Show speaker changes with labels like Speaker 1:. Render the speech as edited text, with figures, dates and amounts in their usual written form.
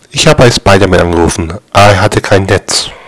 Speaker 1: Ich habe bei Spider-Man angerufen, aber er hatte kein Netz.